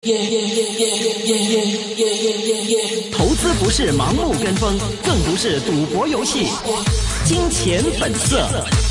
投資不是盲目跟風，更不是賭博遊戲。金錢本色。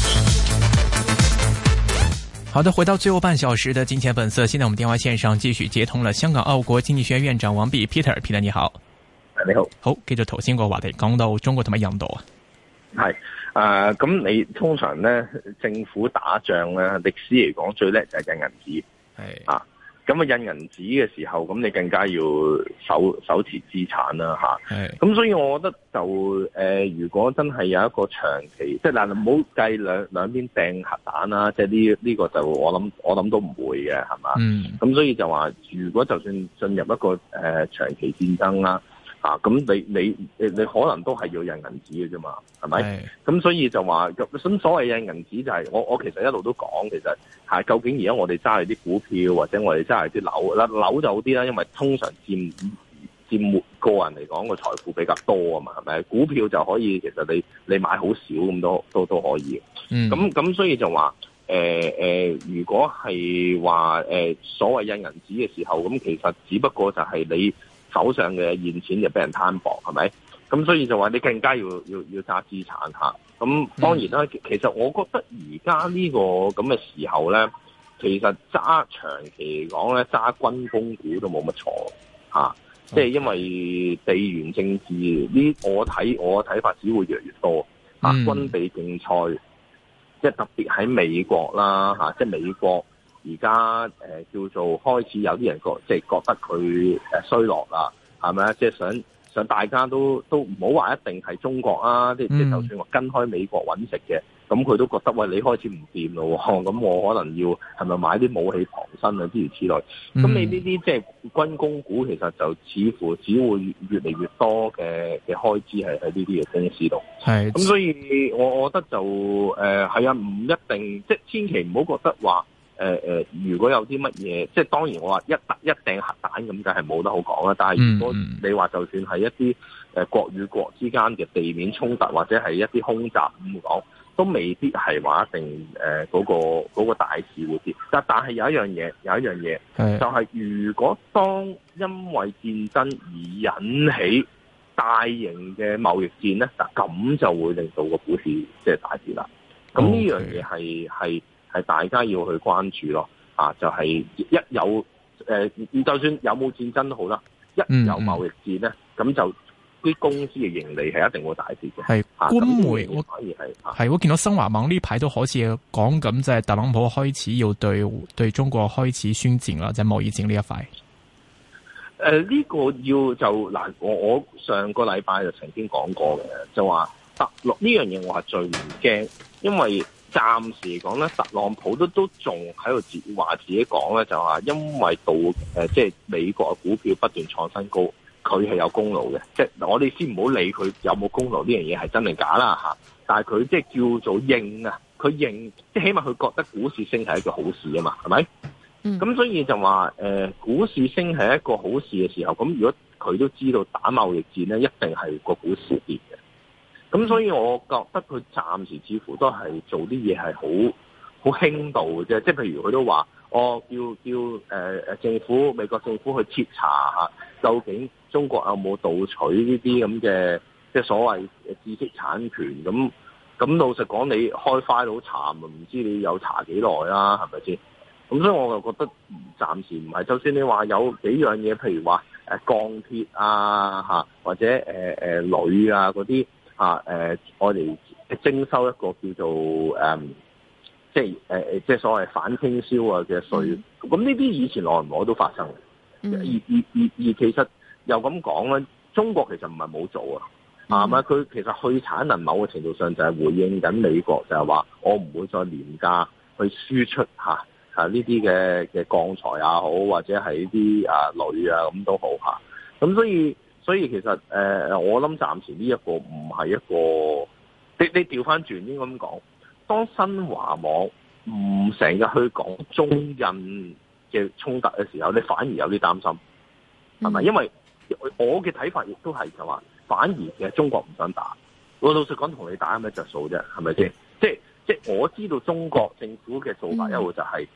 好的，回到最後半小時的金錢本色。現在我們電話線上繼續接通了香港奧國經濟學院院長王弼 Peter 你好。 你好。 好，繼續頭先個話題，講到中國同埋印度啊。 係咁你通常咧政府打仗咧，歷史嚟講最叻就係印銀紙。係啊。咁印銀紙嘅時候，咁你更加要手持資產啦嚇。咁所以我覺得就如果真係有一個長期，即係嗱，唔好計兩邊掟核彈啦，即係呢個就我諗都唔會嘅，係嘛？咁所以就話，如果就算進入一個長期戰爭啦。咁你可能都係要印銀紙嘅啫嘛，係咪？咁所以就話咁所謂印銀紙就係我其實一路都講，其實係究竟而家我哋揸住啲股票或者我哋揸住啲樓啦，樓就好啲啦，因為通常佔個人嚟講個財富比較多啊嘛，係咪？股票就可以其實你買好少咁都可以。咁所以就話如果係話所謂印銀紙嘅時候，咁其實只不過就係你手上嘅現錢就俾人攤薄，係咪？咁所以就話你更加要揸資產嚇。咁當然啦，其實我覺得而家呢個咁嘅時候咧，其實揸長期嚟講咧，揸軍工股都冇乜錯嚇。即係因為地緣政治呢，我睇法只會越嚟越多嚇。軍備競賽，即係特別喺美國啦嚇，即係美國。而家叫做開始有啲人覺得佢衰落啦，係咪啊？即係想大家都唔好話一定係中國啊，即係就算話跟開美國揾食嘅，咁佢都覺得喂，你開始唔掂咯，咁我可能要係咪買啲武器傍身啊諸如此類。咁你呢啲即係軍工股，其實就似乎只會越嚟越多嘅開支係喺呢啲嘅公司度。係。咁所以我覺得就係啊，唔一定即係千祈唔好覺得話。如果有啲乜嘢，即係當然我話一掟核彈咁，梗係冇得好講啦。但係如果你話就算係一啲國與國之間嘅地面衝突，或者係一啲空襲咁講，都未必係話一定嗰個大事會跌。但係有一樣嘢，就係如果當因為戰爭而引起大型嘅貿易戰咧，嗱咁就會令到個股市即係大跌啦。咁呢樣嘢係大家要去關注咯，就係一有就算有冇戰爭都好啦，一有貿易戰咧，咁就啲公司嘅盈利係一定會大跌嘅。係官媒， 我見到新華網呢排都好似講緊，即係特朗普開始要對中國開始宣戰啦，即係貿易戰呢一塊。 呢個要就嗱，我上個禮拜就曾經講過嘅，就話特朗普呢樣嘢我係最唔驚，因為暫時嚟講咧，特朗普都仲喺度話自己講咧，就話因為即係美國嘅股票不斷創新高，佢係有功勞嘅。即係我哋先唔好理佢有冇功勞呢樣嘢係真定假啦嚇，但係佢即係叫做認啊，佢認即係起碼佢覺得股市升係一個好事啊嘛，係咪？咁所以就話股市升係一個好事嘅時候，咁如果佢都知道打貿易戰咧，一定係個股市跌嘅。咁所以我覺得佢暫時似乎都係做啲嘢係好輕度嘅啫，即係譬如佢都話，叫美國政府去徹查下，究竟中國有冇盜取呢啲咁嘅即係所謂知識產權咁。咁老實講，你開 file 查，唔知你有查幾耐啦，係咪先？咁所以我就覺得暫時唔係，就算你話有幾樣嘢，譬如話鋼鐵啊或者鋁啊嗰啲。我哋徵收一個叫做即係所謂反傾銷啊嘅稅，咁呢啲以前耐唔耐都發生嘅。而其實又咁講咧，中國其實唔係冇做啊，佢其實去產能某個程度上就係回應緊美國，就係話我唔會再廉價去輸出呢啲嘅鋼材也好，或者係呢啲鋁啊咁都好嚇。咁所以其實我諗暫時呢一個唔係一個，你調翻轉應該咁講，當新華網唔成日去講中印嘅衝突嘅時候，你反而有啲擔心，係咪？因為我嘅睇法亦都係就話，反而其實中國唔想打。我老實講，同你打有咩着數啫？係咪先？即係我知道中國政府嘅做法一路就係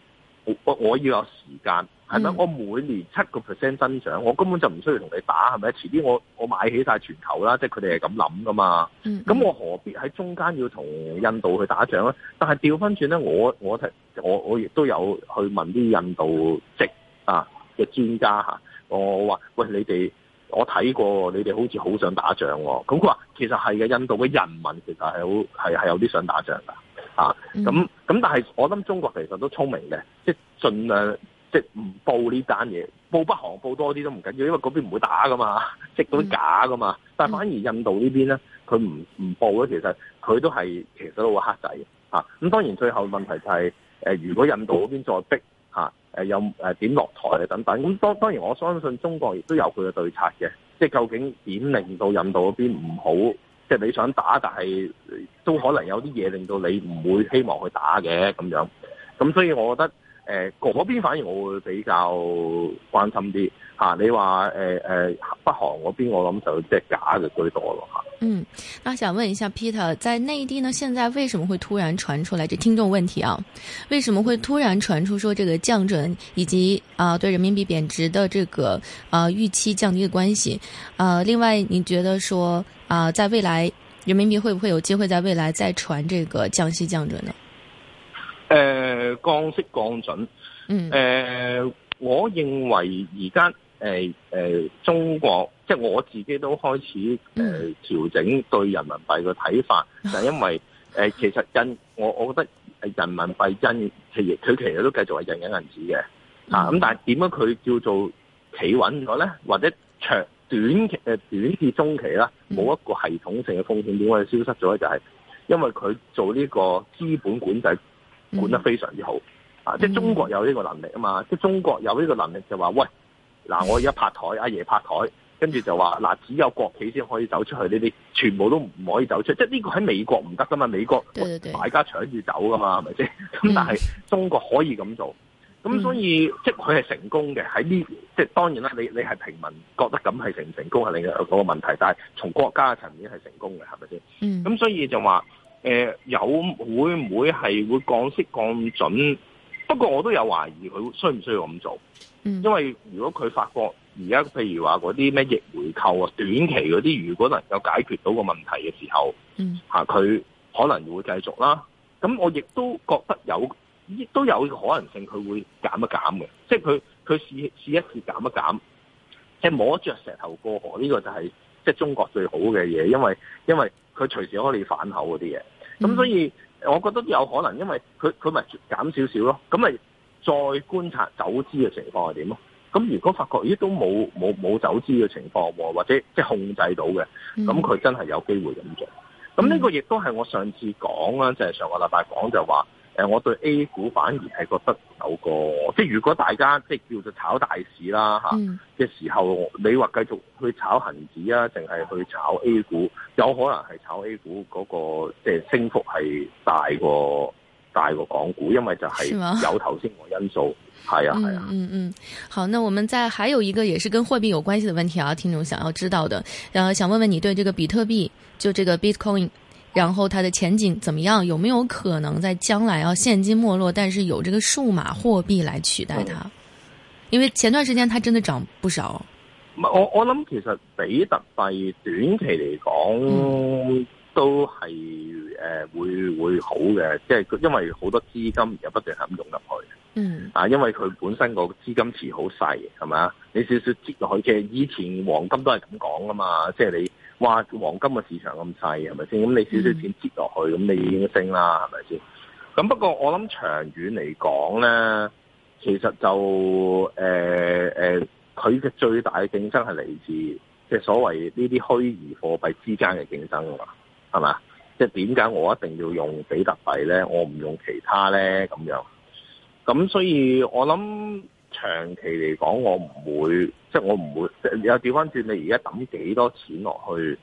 我要有時間，係咪？我每年7% 增長，我根本就唔需要同你打，係咪？遲啲我買起晒全球啦，即係佢哋係咁諗噶嘛。咁我何必喺中間要同印度去打仗咧？但係調翻轉咧，我亦都有去問啲印度籍嘅專家嚇，我話喂，你哋，我睇過你哋好似好想打仗喎。咁佢話其實係嘅，印度嘅人民其實係有啲想打仗㗎。咁但係我諗中國其實都聰明嘅，即係盡量即係唔報呢單嘢，報北韓報多啲都唔緊要，因為嗰邊唔會打噶嘛，即係嗰啲假噶嘛。但係反而印度呢邊咧，佢唔報咧，其實佢都係其實都好黑仔嘅。咁當然最後問題就係如果印度嗰邊再逼有點落台啊等等，咁當然我相信中國亦都有佢嘅對策嘅，即係究竟點令到印度嗰邊唔好？即係你想打，但係都可能有啲嘢令到你唔會希望去打嘅咁樣。咁所以我覺得嗰邊反而我會比較關心啲嚇。你話北韓嗰邊，我諗就即係假嘅居多咯嚇。 那想問一下 Peter， 在內地呢，現在為什麼會突然傳出來？這聽眾問題啊，為什麼會突然傳出說這個降準以及對人民幣貶值的這個預期降低的關係？另外，你覺得說在未來人民幣會不會有機會在未來再傳這個降息降準呢？ 降息降準，我認為而家中國即係我自己都開始調整對人民幣嘅睇法，就係因為其實我覺得人民幣佢其實都繼續係印緊銀紙嘅，咁但係點樣佢叫做企穩咗咧？或者短至中期啦，冇一個系統性嘅風險，點解消失咗咧？就係因為佢做呢個資本管制管得非常之好，即係中國有呢個能力啊嘛，即係中國有呢個能力就話喂，嗱我而家拍台，阿爺拍台，跟住就話嗱只有國企先可以走出去，呢啲全部都唔可以走出，即係呢個喺美國唔得噶嘛，美國買家搶住走噶嘛，係咪先？咁但係中國可以咁做。咁所以即係佢係成功嘅喺呢，即係當然啦。你係平民覺得咁係成唔成功係另一個問題，但係從國家嘅層面係成功嘅，係咪先？咁所以就話有會唔會係會降息降準？不過我都有懷疑佢需唔需要咁做，因為如果佢發覺而家譬如話嗰啲咩逆回購啊，短期嗰啲如果能夠解決到個問題嘅時候，佢可能會繼續啦。咁我亦都覺得亦都有可能性佢會減一減嘅，即係佢試一試減一減，即係摸着石頭過河，呢個就係即係中國最好嘅嘢，因為佢隨時可以反口嗰啲嘢。咁所以我覺得有可能，因為佢咪減少少咯，咁咪再觀察走資嘅情況係點咯。咁如果發覺都冇走資嘅情況喎，或者即係控制到嘅，咁佢真係有機會咁做。咁呢個亦都係我上次講啦，就係上個禮拜講就話。我對 A 股反而係覺得有個，即係如果大家即係叫做炒大市啦嘅時候，你話繼續去炒恒指啊，定係去炒 A 股？有可能係炒 A 股嗰個即係升幅係大過港股，因為就係有頭先個因素。係啊。 好，那我們還有一個也是跟貨幣有關係的問題啊，聽眾想要知道的，想問問你對這個比特幣，就這個 Bitcoin。然後它的前景怎麼樣？有沒有可能在將來現金沒落，但是有這個數碼貨幣來取代它？因為前段時間它真的漲不少。 我諗其實比特幣短期嚟講都係會好嘅，即係因為好多資金而家不斷係咁湧入去。因為佢本身個資金池好細，係咪啊？你少少擠落去，其實以前黃金都係咁講噶嘛，即係你。哇！黃金嘅市場咁細，係咪先？咁你少少錢接落去，咁你已經升啦，係咪先？咁不過我諗長遠嚟講咧，其實就佢嘅最大嘅競爭係嚟自即係所謂呢啲虛擬貨幣之間嘅競爭啊嘛，係嘛？即係點解我一定要用比特幣咧？我唔用其他咧咁樣。咁所以我諗。長期嚟講，我唔會，有調翻轉，你而家抌幾多錢落去，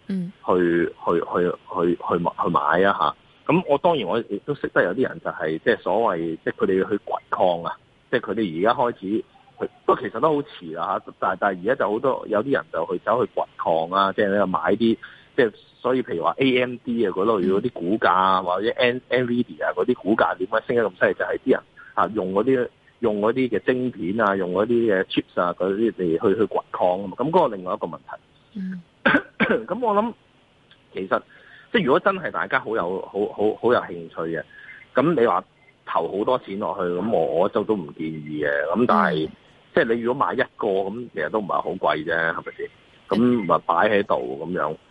去買啊嚇！咁我當然我亦都識得有啲人就係即係所謂，即係佢哋要去掘礦啊！即係佢哋而家開始，不過其實都好遲啦嚇。但係而家就好多有啲人就去走去掘礦啊！即係你買啲，即係所以譬如話 AMD 啊嗰類嗰啲股價，或者 NVIDIA 嗰啲股價點解升得咁犀利？就係啲人用嗰啲用嗰啲嘅晶片啊，用嗰啲嘅 chips 啊嗰啲嚟去掘礦啊嘛，咁嗰個另外一個問題。咁我諗其實即係如果真係大家好有興趣嘅，咁你話投好多錢落去，咁我都唔建議嘅。咁但係即係你如果買一個咁，其實都唔係好貴啫，係咪先？咁咪擺喺度咁樣。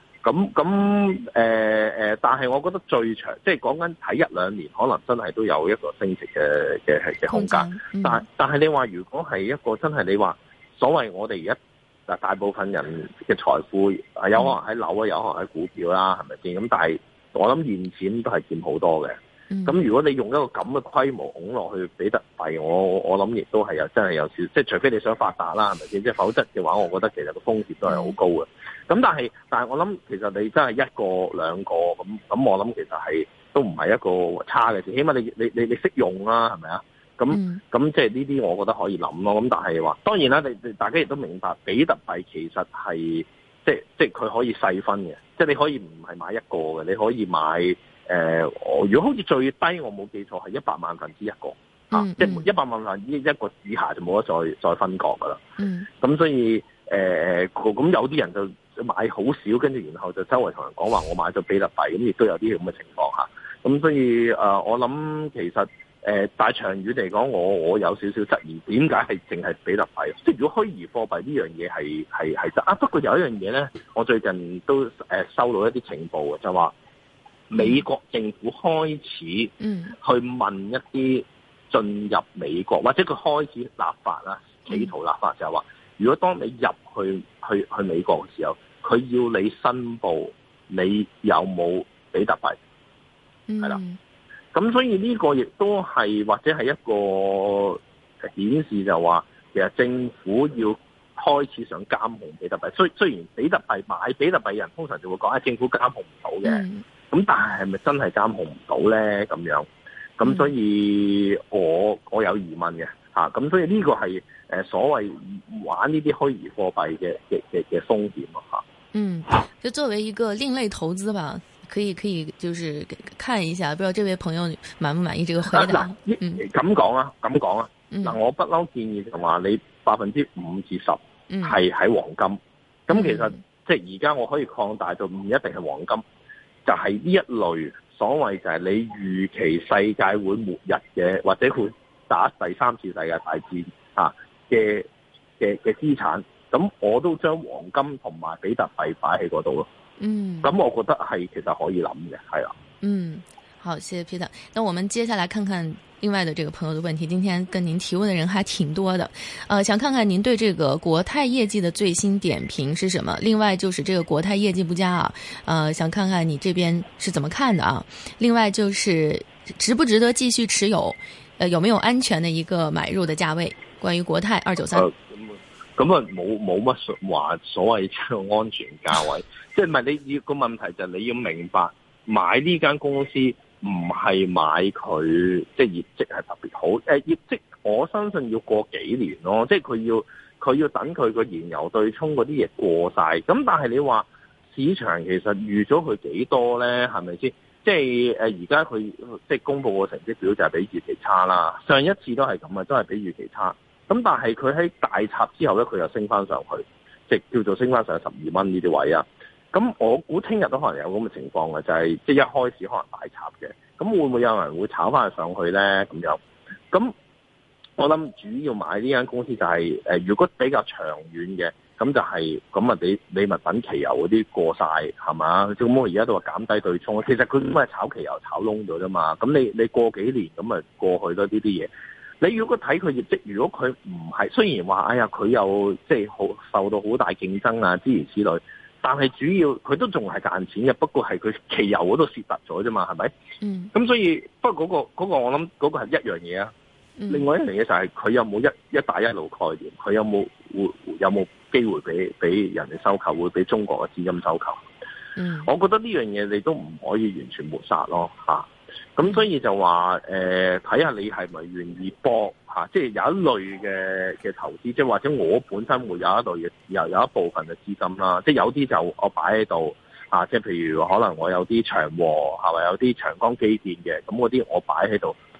但係我覺得最長，即係講緊睇1-2年，可能真係都有一個升值嘅空間。但係你話如果係一個真係你話所謂我哋而家大部分人嘅財富有可能喺樓啊，有可能喺股票啦，係咪先？咁但係我諗現錢都係佔好多嘅。咁如果你用一個咁嘅規模拱落去比特幣，我諗亦都係真係有少，即係除非你想發達啦，係咪先？即係否則嘅話，我覺得其實個風險都係好高嘅。咁但係我諗其實你真係一個兩個咁，我諗其實係都唔係一個差嘅事，起碼你識用啦，係咪啊？咁即係呢啲我覺得可以諗咯。咁但係話當然啦，你大家亦都明白，比特幣其實係即係佢可以細分嘅，即係你可以唔係買一個嘅，你可以買如果好似最低我冇記錯係100萬分之一個，即係100萬分之一個以下就冇得再分割噶啦。咁所以咁有啲人就買好少，跟住然後就周圍同人講話我買咗比特幣，咁亦都有啲咁嘅情況下。咁所以我諗其實大長遠嚟講，我有少少質疑點解係淨係比特幣？即係如果虛擬貨幣呢樣嘢係真啊，不過有一樣嘢咧，我最近都收到一啲情報嘅，就話美國政府開始去問一啲進入美國或者佢開始立法啦，企圖立法就係話，如果當你入去美國嘅時候，佢要你申報你有冇比特幣，係啦。咁所以呢個亦都係或者係一個顯示就話，其實政府要開始想監控比特幣。雖然比特幣買比特幣人通常就會講政府監控唔到嘅，咁但係係咪真係監控唔到咧？咁樣，咁所以我有疑問嘅嚇。咁所以呢個係所謂玩呢啲虛擬貨幣嘅風險嚇。 就作為一個另類投資吧。可以，就是看一下，不知道這位朋友滿不滿意這個回答？ 咁講啊。嗱，我不嬲建議就話你5%至10%係喺黃金。咁其實即係而家我可以擴大到唔一定係黃金，就係呢一類所謂就係你預期世界會末日嘅，或者會打第3次世界大戰嘅資產。咁我都將黃金同埋比特幣擺喺嗰度咯。咁我覺得係其實可以諗嘅，係啊。 好，謝謝 Peter。那我們接下來看看另外的這個朋友的問題。今天跟您提問的人還挺多的，想看看您對這個國泰業績的最新點評是什麼？另外就是這個國泰業績不佳啊，想看看你這邊是怎麼看的啊？另外就是值不值得繼續持有？有沒有安全的一個買入的價位？關於國泰293。 咁啊冇乜話所謂嘅安全價位，即係唔係你要個問題就係你要明白買呢間公司唔係買佢即係業績係特別好，業績我相信要過幾年咯，即係佢要等佢個燃油對沖嗰啲嘢過晒，咁但係你話市場其實預咗佢幾多咧？係咪先？即係而家佢即係公佈個成績表就係比預期差啦，上一次都係咁啊，都係比預期差。咁但係佢喺大插之後咧，佢又升翻上去，即係叫做升翻上12蚊呢啲位啊。咁我估聽日都可能有咁嘅情況嘅，就係即係一開始可能大插嘅。咁會唔會有人會炒翻上去咧？咁樣，咁我諗主要買呢間公司就係如果比較長遠嘅，咁就係咁啊！你咪等期油嗰啲過晒係嘛？咁我而家都話減低對沖，其實佢都係炒期油炒窿咗啫嘛。咁你過幾年咁咪過去咯呢啲嘢。你如果睇佢業績，如果佢唔係，雖然話哎呀佢又即係好受到好大競爭啊諸如此類，但係主要佢都仲係賺錢嘅，不過係佢期油嗰度蝕突咗啫嘛，係咪？咁所以不過嗰個我諗嗰個係一樣嘢啊。另外一樣嘢就係佢有冇一帶一路概念，佢有冇機會俾人哋收購，會俾中國嘅資金收購。我覺得呢樣嘢你都唔可以完全抹殺咯嚇。咁所以就話睇下你係咪願意搏嚇，即係有一類嘅投資，即係或者我本身會有一類嘅有一部分嘅資金啦，即係有啲就我擺喺度啊，即係譬如可能我有啲長和係咪有啲長江基建嘅，咁嗰啲我擺喺度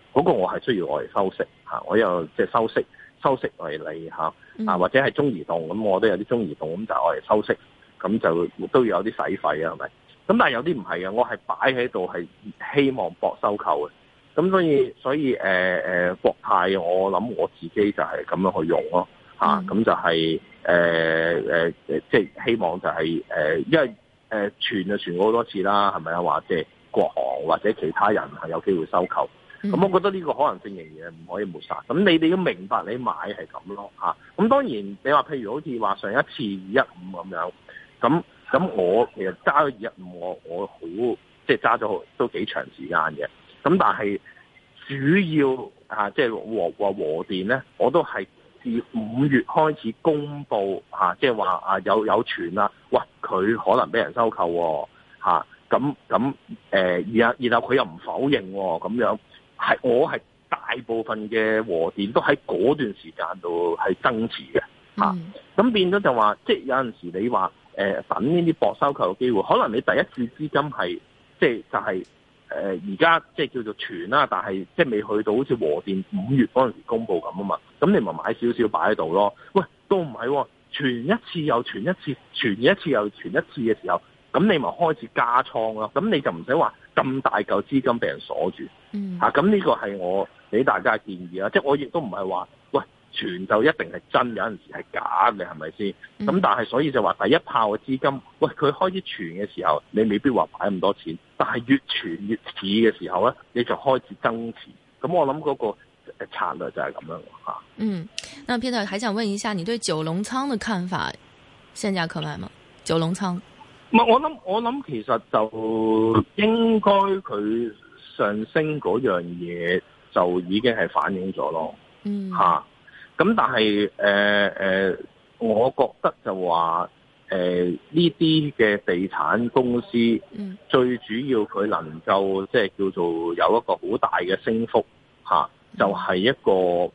嗰個我係需要我嚟收息嚇，我有即係收息為例嚇，或者係中移動咁，我都有啲中移動咁就我嚟收息，咁就都要有啲使費啊，係咪？咁但係有啲唔係嘅，我係擺喺度係希望博收購嘅。咁所以國泰我諗我自己就係咁樣去用咯嚇，咁就係即係希望就係因為傳就傳過好多次啦，係咪啊？話即係國航或者其他人係有機會收購，咁我覺得呢個可能性仍然唔可以抹殺。咁你哋都明白你買係咁咯嚇。咁當然你話譬如好似話上一次215咁樣，咁我其實揸咗215，我好即係揸咗都幾長時間嘅。咁但係主要即係和電咧，我都係自5月開始公佈即係話有傳啦，喂佢可能俾人收購喎咁然後佢又唔否認喎，咁樣我係大部分嘅和電都喺嗰段時間度係增持嘅咁變咗就話即係有陣時你話等呢啲博收購嘅機會，可能你第一次資金係即係就係而家即係叫做傳啦，但係即係未去到好似和電5月嗰陣時公佈咁啊嘛，咁你咪買少少擺喺度咯。喂，都唔係喎，傳一次又傳一次，傳一次又傳一次嘅時候，咁你咪開始加倉咯。咁你就唔使話咁大嚿資金俾人鎖住。咁呢個係我俾大家嘅建議啦。即係我亦都唔係話喂傳就一定係真，有陣時係假嘅，係咪先？咁但係所以就話第一炮嘅資金，喂佢開始傳嘅時候，你未必話擺咁多錢，但係越傳越似嘅時候咧，你就開始增持。咁我諗嗰個策略就係咁樣嚇。 那 Peter 還想問一下，你對九龍倉嘅看法，現價可買嗎？九龍倉？ 唔係，我諗其實就應該佢上升嗰樣嘢就已經係反映咗咯。咁但係我覺得就話呢啲嘅地產公司，最主要佢能夠即係叫做有一個好大嘅升幅就係一個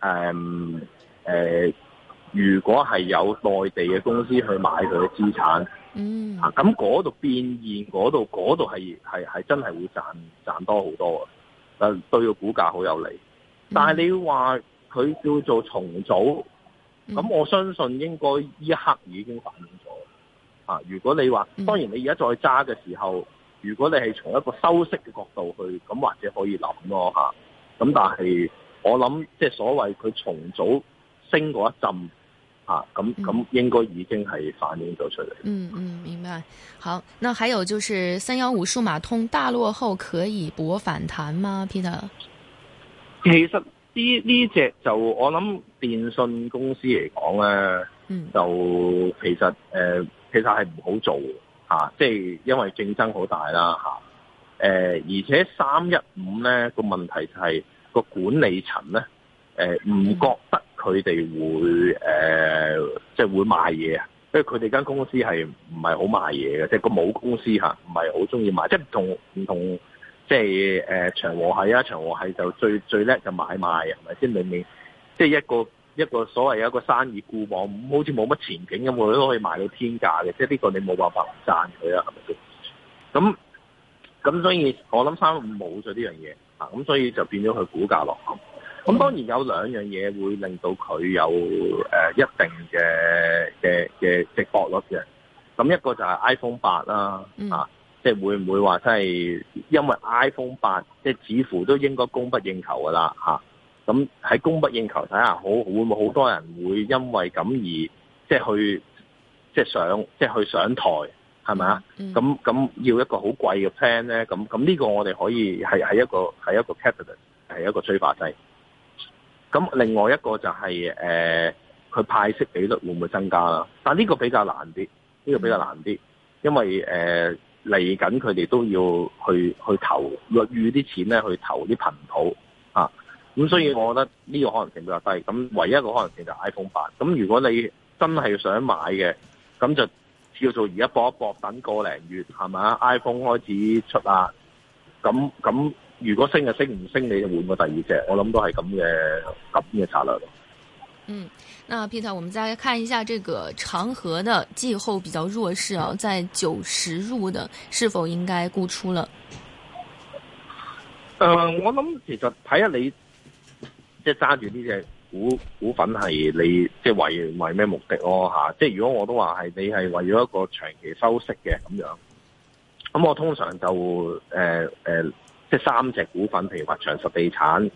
如果係有內地嘅公司去買佢嘅資產，咁嗰度變現嗰度係真係會賺多好多嘅，對個股價好有利。但係你話佢叫做重組，咁我相信應該呢一刻已經反映咗。如果你話，當然你而家再揸嘅時候，如果你係從一個收息嘅角度去，咁或者可以諗咯咁但係我諗，即係所謂佢重組升嗰一陣咁應該已經係反映咗出嚟。 明白。好，那還有就是315數碼通大落後可以搏反彈嗎 Peter？ 其實呢隻就我諗電信公司嚟講咧，就其實係唔好做即係因為競爭好大啦而且315咧個問題就係個管理層咧唔覺得佢哋會即係會賣嘢啊，因為佢哋間公司係唔係好賣嘢嘅，即係個母公司唔係好中意賣，即係唔同。即係長和係啊，長和係就最叻就買賣，係咪先？明明即係一個所謂有一個生意固網，好似冇乜前景咁，我都可以賣到天價嘅，即係呢個你冇辦法唔讚佢啊，係咪先？咁所以我諗315冇咗呢樣嘢咁所以就變咗佢股價落後。咁當然有兩樣嘢會令到佢有一定嘅值博率嘅。咁一個就係 iPhone 8啦即係會唔會話真係因為 iPhone 8即係似乎都應該供不應求噶啦咁喺供不應求底下，會唔會好多人會因為咁而即係去上台係咪啊？咁要一個好貴嘅 plan 咧，咁呢個我哋可以係一個 catalyst， 係一個催化劑。咁另外一個就係佢派息比率會唔會增加啦？但呢個比較難啲，因為嚟緊佢哋都要去投預啲錢咧，去投啲頻譜咁所以我覺得呢個可能性比較低。咁唯一一個可能性就係 iPhone 8。咁如果你真係想買嘅，咁就叫做而家搏一搏，等個零月係咪啊 ？iPhone 開始出啦，咁如果升就升，唔升你就換個第二隻。我諗都係咁嘅策略咯。 那 Peter， 我們再來看一下這個長和的季後比較弱勢在90入的，是否應該沽出了？ 我諗其實睇下你即係揸住呢隻股份係你即係為咩目的咯吓？即係如果我都話係你係為咗一個長期收息嘅咁樣，咁我通常就即係3隻股份，譬如話長實地產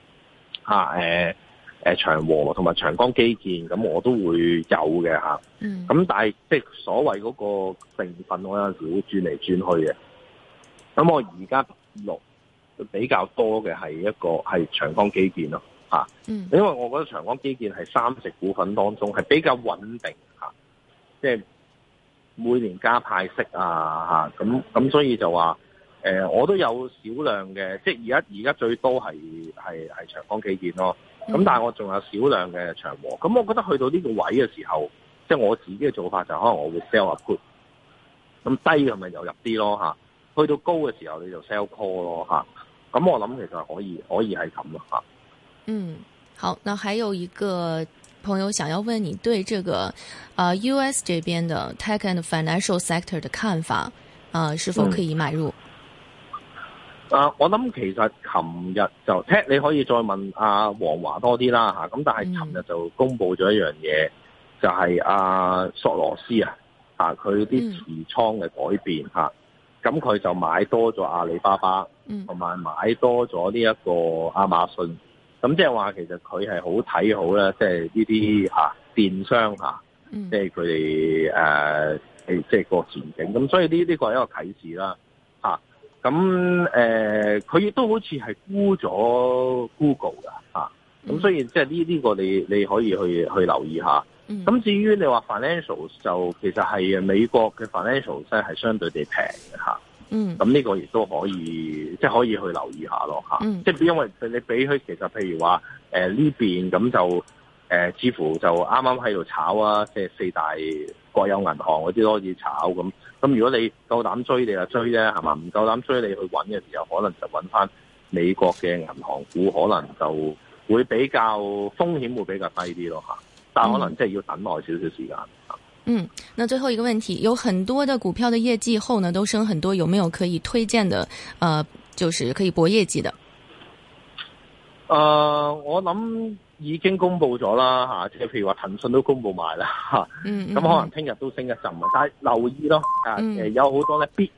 長和同埋長江基建，咁我都會有嘅吓。咁但係即係所謂嗰個成分，我有陣時會轉嚟轉去嘅。咁我而家比較多嘅係長江基建咯吓。因為我覺得長江基建係3隻股份當中係比較穩定吓，即係每年加派息啊吓，咁所以就話我都有少量嘅，即係而家最多係長江基建咯。咁但係我仲有少量嘅長和。咁我覺得去到呢個位嘅時候，即係我自己嘅做法就可能我會 sell 下 put， 咁低嘅咪又入啲咯吓。去到高嘅時候你就 sell call 咯吓。咁我諗其實可以係咁咯吓。 好，那還有一個朋友想要問你對這個US 這邊的 tech and financial sector 的看法，是否可以買入？ 我諗其實琴日就聽你可以再問阿黃華多啲啦吓，咁但係琴日就公布咗一樣嘢，就係阿索羅斯佢啲持倉嘅改變吓，咁佢就買多咗阿里巴巴，同埋買多咗呢一個亞馬遜，咁即係話其實佢係好睇好咧，即係呢啲電商即係佢哋即係個前景，咁所以呢個係一個啟示啦吓。咁佢亦都好似係沽咗 Google 㗎咁所以即係呢個你可以去留意下。咁至於你話 financials 就其實係美國嘅 financials 咧係相對地平嘅咁呢個亦都可以即係可以去留意下咯即係因為你比起其實譬如話呢邊咁就似乎就啱啱喺度炒啊，即係4大國有銀行嗰啲都可以炒咁。咁如果你夠膽追，你就追啫，係嘛？唔夠膽追，你去揾嘅時候，可能就揾翻美國嘅銀行股，可能就會比較風險會比較低啲咯吓。但係可能即係要等耐少少時間。 那最後一個問題，有很多的股票的業績後呢，都升很多，有沒有可以推薦的？就是可以搏業績的。 我諗已經公布咗啦即係譬如話騰訊都公布埋啦咁可能聽日都升一陣，但係留意咯有好多咧必